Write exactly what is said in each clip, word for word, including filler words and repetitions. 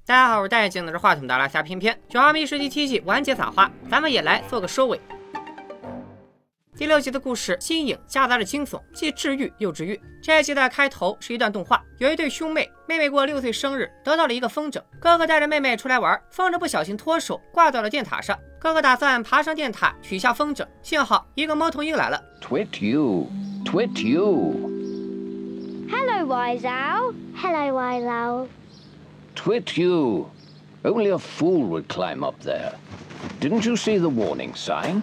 大家好，我是戴眼镜拿着话筒的阿拉夏偏偏。九号迷十第七季完结撒花，咱们也来做个收尾。第六集的故事新颖，夹杂着惊悚，既治愈又治愈。这一集的开头是一段动画，有一对兄妹，妹妹过六岁生日，得到了一个风筝，哥哥带着妹妹出来玩，风筝不小心脱手，挂到了电塔上。哥哥打算爬上电塔取下风筝，幸好一个猫头鹰来了。 Twit you, twit you. Hello, Wise Owl. Hello, Wise Owl. Twit you. Only a fool would climb up there. Didn't you see the warning sign?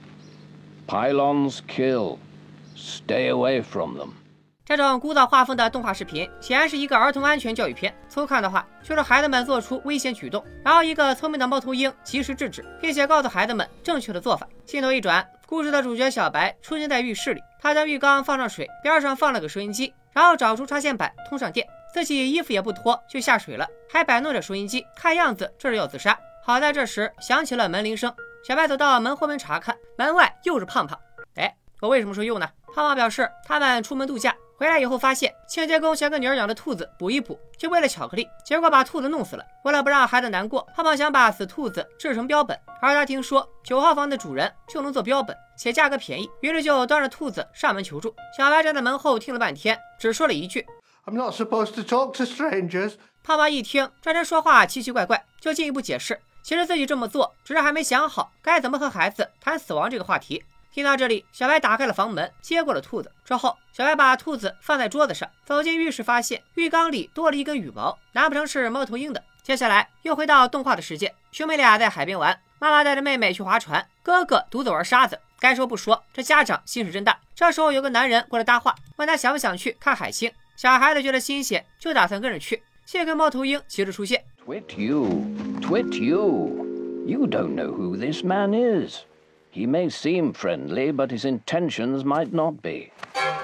Pylons kill. Stay away from them. 这种枯燥画风的动画视频显然是一个儿童安全教育片，粗看的话就是孩子们做出危险举动，然后一个聪明的猫头鹰及时制止，并且告诉孩子们正确的做法。镜头一转，故事的主角小白出现在浴室里，他将浴缸放上水，边上放了个收音机，然后找出插线板通上电，自己衣服也不脱就下水了，还摆弄着收音机，看样子这是要自杀。好在这时响起了门铃声，小白走到门后面查看，门外又是胖胖。哎，我为什么说又呢？胖胖表示他们出门度假，回来以后发现清洁工想跟女儿养的兔子补一补，就为了巧克力，结果把兔子弄死了。为了不让孩子难过，胖胖想把死兔子制成标本，而他听说九号房的主人就能做标本，且价格便宜，于是就端着兔子上门求助。小白站在门后听了半天，只说了一句 I'm not supposed to talk to strangers。 胖胖一听这人说话奇奇怪怪，就进一步解释，其实自己这么做只是还没想好该怎么和孩子谈死亡这个话题。听到这里，小白打开了房门，接过了兔子。之后小白把兔子放在桌子上，走进浴室，发现浴缸里多了一根羽毛，难不成是猫头鹰的？接下来又回到动画的世界，兄妹俩在海边玩，妈妈带着妹妹去划船，哥哥独自玩沙子。该说不说，这家长心是真大。这时候有个男人过来搭话，问他想不想去看海星。小孩子觉得新鲜，就打算跟着去。这个猫头鹰骑着出现。 Twit you, twit you. You don't know who this man is. He may seem friendly, but his intentions might not be.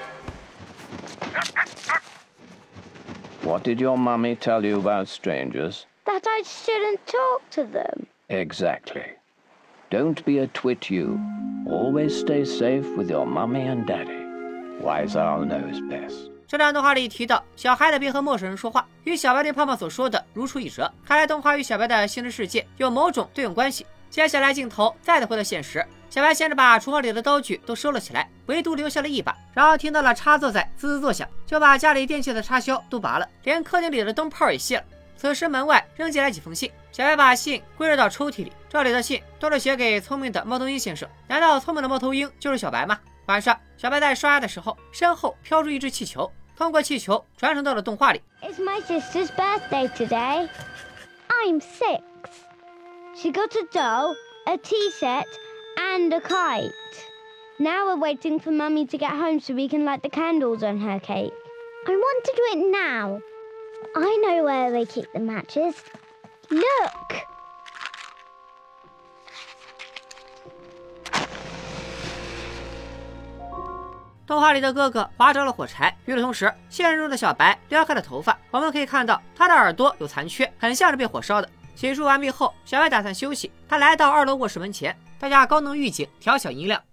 What did your mummy tell you about strangers? That I shouldn't talk to them. Exactly. Don't be a twit you. Always stay safe with your mummy and daddy. Wise Owl knows best. 这段动画里提到小孩子别和陌生人说话，与小白对胖胖所说的如出一辙，看来动画与小白的现实世界有某种对应关系。接下来镜头再次回到现实，小白先是把厨房里的刀具都收了起来，唯独留下了一把，然后听到了插座在滋滋作响，就把家里电器的插销都拔了，连客厅里的灯泡也卸了。此时门外扔进来几封信，小白把信归入到抽屉里，这里的信都是写给聪明的猫头鹰先生。难道聪明的猫头鹰就是小白吗？晚上小白在刷牙的时候，身后飘出一只气球，通过气球传送到了动画里。 It's my sister's birthday today. I'm six. She got a doll, a tea set, and a kite. Now we're waiting for Mummy to get home so we can light the candles on her cake. I want to do it now. I know where they keep the matches. Look! 动画里的哥哥划着了火柴，与此同时，现实中的小白撩开了头发，我们可以看到他的耳朵有残缺，很像是被火烧的。洗漱完毕后，小白打算休息，他来到二楼卧室门前，大家高能预警调小音量。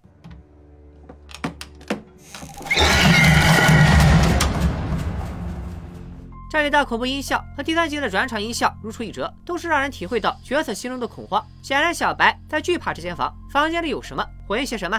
这里的恐怖音效和第三集的转场音效如出一辙，都是让人体会到角色心中的恐慌。显然小白在惧怕这间房，房间里有什么，混些什么。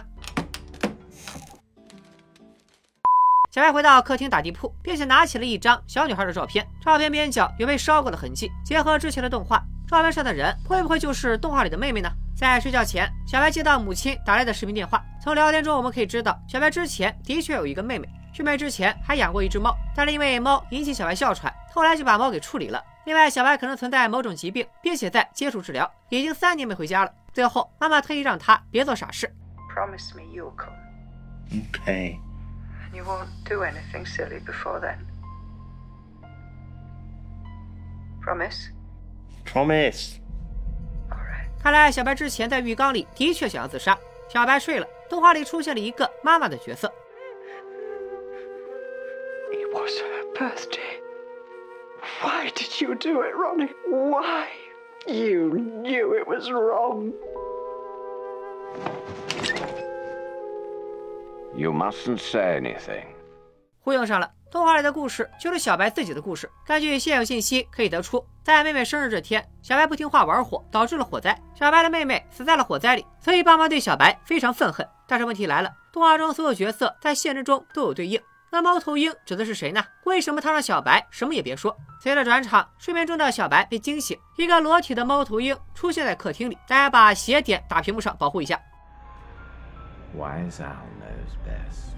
小白回到客厅打地铺，并且拿起了一张小女孩的照片，照片边角有被烧过的痕迹，结合之前的动画，照片上的人会不会就是动画里的妹妹呢？在睡觉前，小白接到母亲打来的视频电话，从聊天中我们可以知道，小白之前的确有一个妹妹，师妹之前还养过一只猫，但是因为猫引起小白哮喘，后来就把猫给处理了。另外，小白可能存在某种疾病，并且在接受治疗，已经三年没回家了。最后，妈妈特意让他别做傻事。 Promise me you'll come. Okay. You won't do anything silly before then. Promise? Promise. All right. 看来小白之前在浴缸里的确想要自杀。小白睡了，动画里出现了一个妈妈的角色。 It was her birthday. Why did you do it, Ronnie? Why? You knew it was wrong. You mustn't say anything. 忽悠上了。 动画里的故事就是小白自己的故事。根据现有信息可以得出，在妹妹生日这天，小白不听话玩火，导致了火灾。小白的妹妹死在了火灾里，所以爸妈对小白非常愤恨。但是问题来了，动画中所有角色在现实中都有对应。那猫头鹰指的是谁呢？为什么他让小白什么也别说？随着转场，睡眠中的小白被惊醒，一个裸体的猫头鹰出现在客厅里。大家把斜点打屏幕上保护一下。 Wise owl knows best.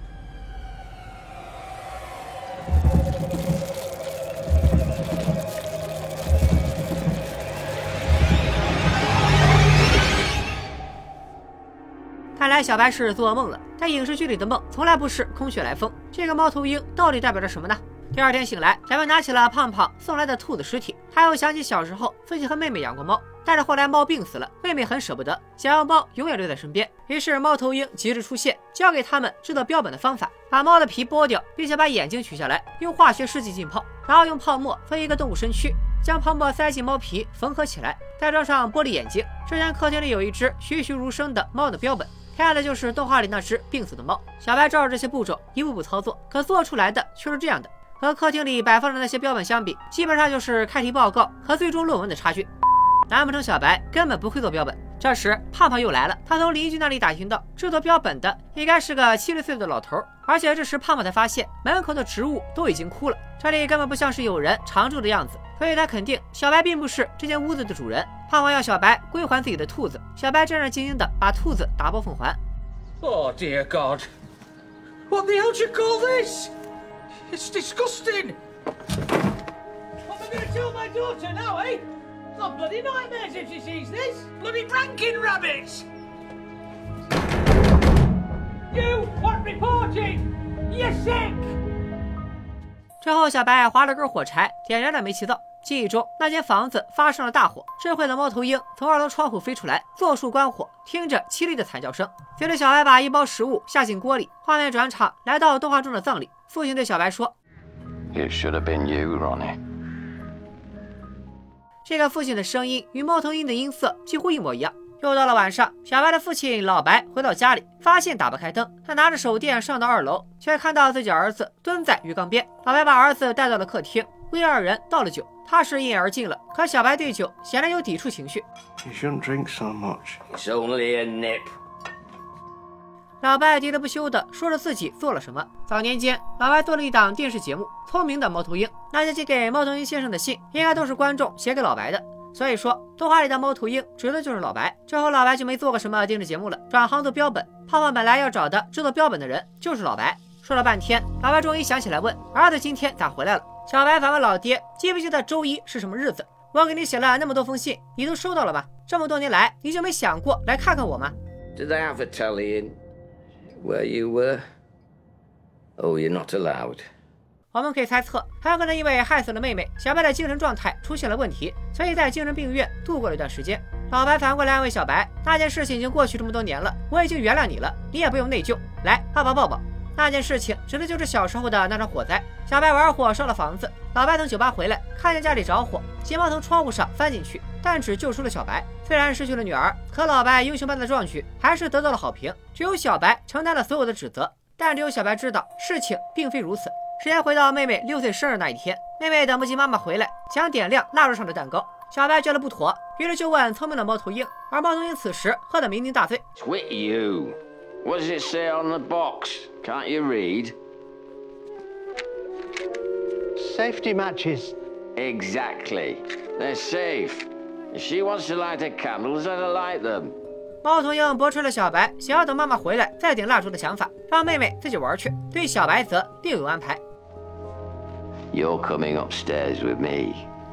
看来小白是做噩梦了，在影视剧里的梦从来不是空穴来风。这个猫头鹰到底代表着什么呢？第二天醒来，小白拿起了胖胖送来的兔子尸体，他又想起小时候自己和妹妹养过猫，但是后来猫病死了，妹妹很舍不得，想要猫永远留在身边。于是猫头鹰及时出现，教给他们制作标本的方法：把猫的皮剥掉，并且把眼睛取下来，用化学试剂浸泡，然后用泡沫分一个动物身躯，将泡沫塞进猫皮缝合起来，再装上玻璃眼睛。之前客厅里有一只栩栩如生的猫的标本，看的就是动画里那只病死的猫。小白照着这些步骤一步步操作，可做出来的却是这样的。和客厅里摆放的那些标本相比，基本上就是开题报告和最终论文的差距。难不成小白根本不会做标本？这时胖胖又来了，他从邻居那里打听到制作标本的应该是个七十岁的老头，而且这时胖胖才发现门口的植物都已经枯了，这里根本不像是有人常住的样子，所以他肯定小白并不是这间屋子的主人。胖胖要小白归还自己的兔子，小白战战兢兢地把兔子打包奉还。 Oh dear God! What the hell do you call this? It's disgusting! What am I going to tell my daughter now, eh? It's not bloody nightmares if she sees this! Bloody ranking rabbits! You want reporting? You're sick! 之后，小白划了根火柴，点燃了煤气灶。记忆中，那间房子发生了大火，智慧的猫头鹰从二楼窗户飞出来，做出关火，听着凄厉的惨叫声。随着小白把一包食物下进锅里，画面转场来到动画中的葬礼。父亲对小白说 It should have been you, Ronnie. 这个父亲的声音与猫头鹰的音色几乎一模一样。又到了晚上，小白的父亲老白回到家里，发现打不开灯，他拿着手电上到二楼，却看到自己儿子蹲在鱼缸边。老白把儿子带到了客厅，为二人倒了酒。他是一饮而尽了，可小白对酒显然有抵触情绪。 You shouldn't drink so much. It's only a nip. 老白喋喋不休地说着自己做了什么。早年间，老白做了一档电视节目《聪明的猫头鹰》，那些寄给猫头鹰先生的信，应该都是观众写给老白的。所以说，动画里的猫头鹰指的就是老白。之后，老白就没做过什么电视节目了，转行做标本。胖胖本来要找的制作标本的人就是老白。说了半天，老白终于想起来问儿子今天咋回来了。小白反问老爹，记不记得周一是什么日子？我给你写了那么多封信，你都收到了吗？这么多年来，你就没想过来看看我吗？ Did they have a telly in where you were? Oh, you're not allowed. 我们可以猜测，很有可能因为害死了妹妹，小白的精神状态出现了问题，所以在精神病院度过了一段时间。老白反过来安慰小白，那件事情已经过去这么多年了，我已经原谅你了，你也不用内疚。来，爸爸抱抱。那件事情指的就是小时候的那场火灾。小白玩火烧了房子，老白从酒吧回来，看见家里着火，急忙从窗户上翻进去，但只救出了小白。虽然失去了女儿，可老白英雄般的壮举还是得到了好评。只有小白承担了所有的指责，但只有小白知道事情并非如此。时间回到妹妹六岁生日那一天，妹妹等不及妈妈回来，想点亮蜡烛上的蛋糕。小白觉得不妥，于是就问聪明的猫头鹰，而猫头鹰此时喝得酩酊大醉。 Twit you. What does it say on the box? Can't you read? Safety matches. Exactly. They're safe. If she wants to light her candles, let her light them. 猫头鹰驳斥了小白想要等妈妈回来再点蜡烛的想法，让妹妹自己玩去，对小白则另有安排。 You're coming upstairs with me.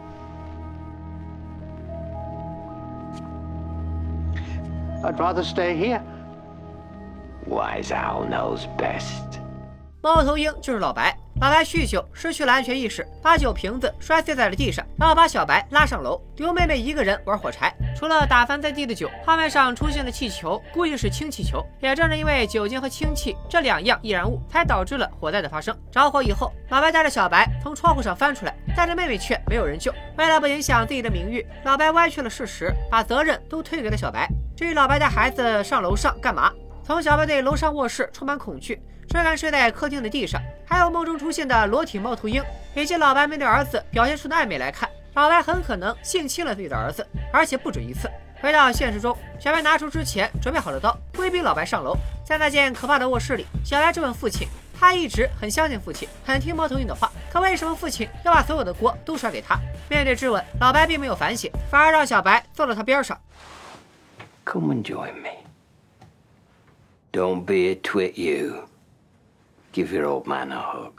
I'd rather stay here. Wise owl knows best. 猫头鹰就是老白。老白酗酒，失去了安全意识，把酒瓶子摔碎在了地上，然后把小白拉上楼，留妹妹一个人玩火柴。除了打翻在地的酒，画面上出现的气球估计是氢气球。也正是因为酒精和氢气这两样易燃物，才导致了火灾的发生。着火以后，老白带着小白从窗户上翻出来，但是妹妹却没有人救。为了不影响自己的名誉，老白歪曲了事实，把责任都推给了小白。至于老白带孩子上楼上干嘛？从小白对楼上卧室充满恐惧，追赶睡在客厅的地上， 还有梦中出现的裸体猫头鹰，以及老白面对儿子表现出的暧昧来看，老白很可能性侵了自己的儿子，而且不止一次。回到现实中，小白拿出之前准备好的刀，威逼老白上楼。在那间可怕的卧室里，小白质问父亲，他一直很相信父亲，很听猫头鹰的话，可为什么父亲要把所有的锅都甩给他？面对质问，老白并没有反省，反而让小白坐到他边上。 Come and join me. Don't be a twit, you. Give your old man a hug.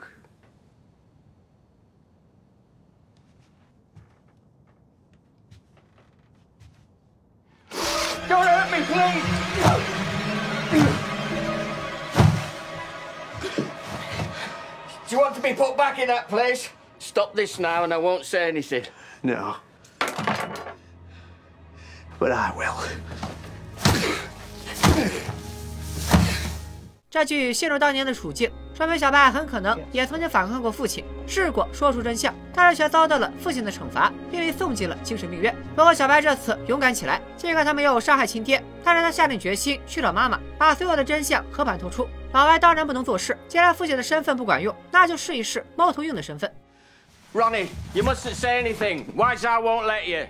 Don't hurt me, please! Do you want to be put back in that place? Stop this now and I won't say anything. No. But I will. 这句陷入当年的处境，说明小白很可能也曾经反抗过父亲，试过说出真相，但是却遭到了父亲的惩罚，并被送进了精神病院。不过小白这次勇敢起来，尽管他没有杀害亲爹，但是他下定决心去找妈妈，把所有的真相和盘托出。老白当然不能做事，既然父亲的身份不管用，那就试一试猫头鹰的身份。 Ronnie, you mustn't say anything. Wiseout won't let you.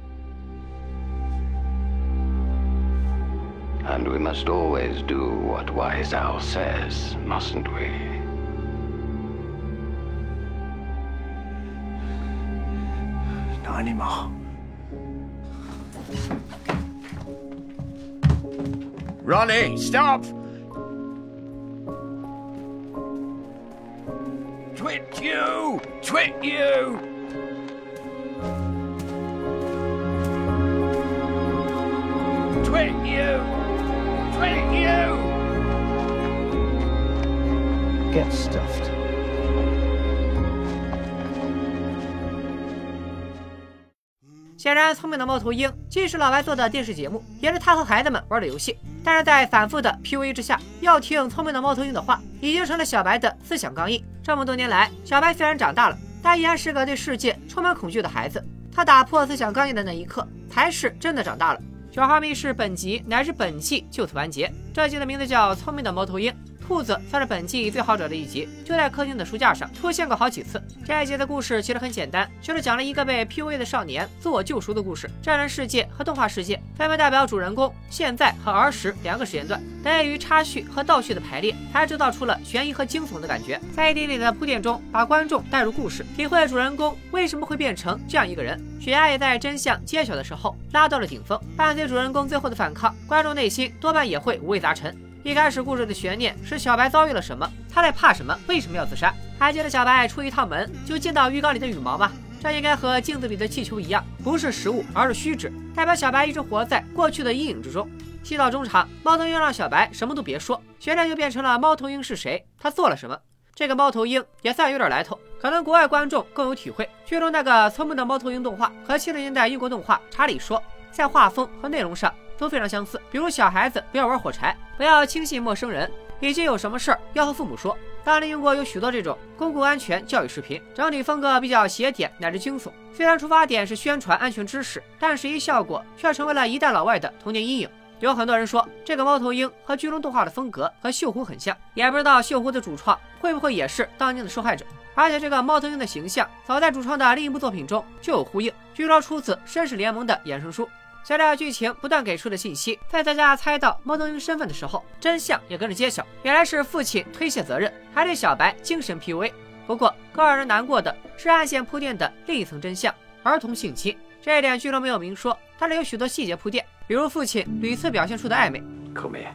And we must always do what Wiseout says, mustn't we? Not anymore. Ronnie, stop! Twit you! Twit you! Twit you! Twit you! Get stuffed. 显然，聪明的猫头鹰既是老白做的电视节目，也是他和孩子们玩的游戏。但是在反复的 P U A 之下，要听聪明的猫头鹰的话，已经成了小白的思想钢印。这么多年来，小白虽然长大了，但依然是个对世界充满恐惧的孩子。他打破思想钢印的那一刻，才是真的长大了。九号密室本集乃至本季就此完结。这集的名字叫《聪明的猫头鹰》。兔子算是本季最好找的一集，就在客厅的书架上出现过好几次。这一集的故事其实很简单，就是讲了一个被 P U A 的少年自我救赎的故事。真人世界和动画世界分别代表主人公现在和儿时两个时间段，得益于插叙和倒叙的排列，才制造出了悬疑和惊悚的感觉。在一点点的铺垫中，把观众带入故事，体会主人公为什么会变成这样一个人。血压也在真相揭晓的时候拉到了顶峰，伴随主人公最后的反抗，观众内心多半也会五味杂陈。一开始故事的悬念是小白遭遇了什么，他在怕什么，为什么要自杀？还记得小白出一趟门就见到浴缸里的羽毛吗？这应该和镜子里的气球一样，不是实物，而是虚指，代表小白一直活在过去的阴影之中。戏到中场，猫头鹰让小白什么都别说，悬念就变成了猫头鹰是谁，他做了什么。这个猫头鹰也算有点来头，可能国外观众更有体会。剧中那个聪明的猫头鹰动画和七十年代英国动画《查理说》在画风和内容上都非常相似，比如小孩子不要玩火柴，不要轻信陌生人，以及有什么事儿要和父母说。当年英国有许多这种公共安全教育视频，整体风格比较邪典乃至惊悚。虽然出发点是宣传安全知识，但实际效果却成为了一代老外的童年阴影。有很多人说这个猫头鹰和剧中动画的风格和锈湖很像，也不知道锈湖的主创会不会也是当年的受害者。而且这个猫头鹰的形象早在主创的另一部作品中就有呼应，据说出自绅士联盟的衍生书。随着剧情不断给出的信息，在大家猜到猫头鹰身份的时候，真相也跟着揭晓，原来是父亲推卸责任，还对小白精神 P U A。 不过更让人难过的是暗线铺垫的另一层真相，儿童性侵。这一点剧中没有明说，但是有许多细节铺垫，比如父亲屡次表现出的暧昧。 Come here.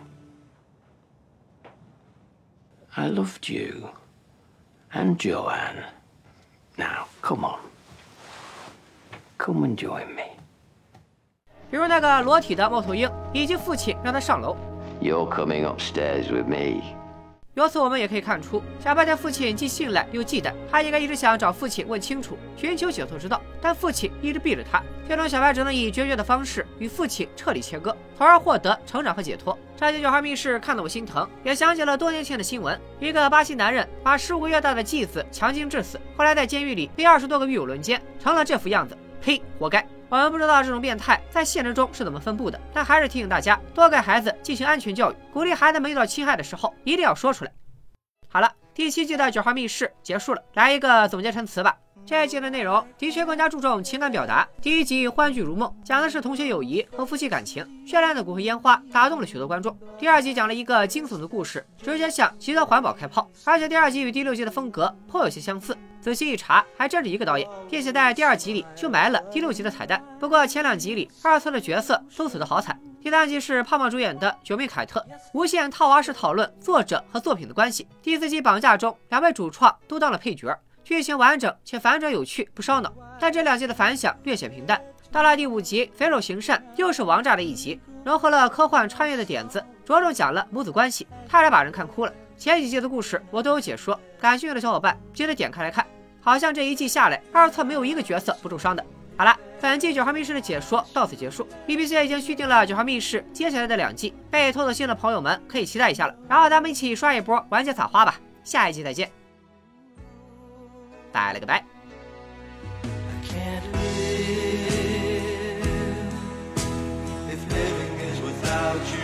I loved you. And Joanne. Now, come on. Come and join me. 比如那个裸体的猫头鹰，以及父亲让他上楼。 You're coming upstairs with me. 由此我们也可以看出，小白对父亲既信赖又忌惮，他应该一直想找父亲问清楚，寻求解脱之道，但父亲一直避着他。最终小白只能以决绝的方式与父亲彻底切割，从而获得成长和解脱。这集九号密室看得我心疼，也想起了多年前的新闻，一个巴西男人把十五个月大的继子强奸致死，后来在监狱里被二十多个狱友轮奸，成了这副样子。呸，活该！我们不知道这种变态在现实中是怎么分布的，但还是提醒大家多给孩子进行安全教育，鼓励孩子们遇到侵害的时候一定要说出来。好了， 第七季的九号密室结束了，来一个总结陈词吧。这一季的内容的确更加注重情感表达。第一集《欢聚如梦》讲的是同学友谊和夫妻感情，绚烂的骨灰烟花打动了许多观众。第二集讲了一个惊悚的故事，直接向极端环保开炮，而且第二集与第六集的风格颇有些相似。仔细一查，还真是一个导演，并且在第二集里就埋了第六集的彩蛋。不过前两集里二次的角色都死得好惨。第三集是胖胖主演的《九妹凯特》，无限套娃式讨论作者和作品的关系。第四集《绑架》中，两位主创都当了配角。剧情完整且反转有趣，不烧脑，但这两集的反响略显平淡。到了第五集，肥肉行善又是王炸的一集，融合了科幻穿越的点子，着重讲了母子关系，差点把人看哭了。前几集的故事我都有解说，感兴趣的小伙伴记得点开来看。好像这一季下来，二册没有一个角色不受伤的。好了，本季九号密室的解说到此结束。B B C 已经续订了九号密室接下来的两季，被偷走信的朋友们可以期待一下了。然后咱们一起刷一波完结撒花吧，下一季再见。拜了个拜。 If living is without you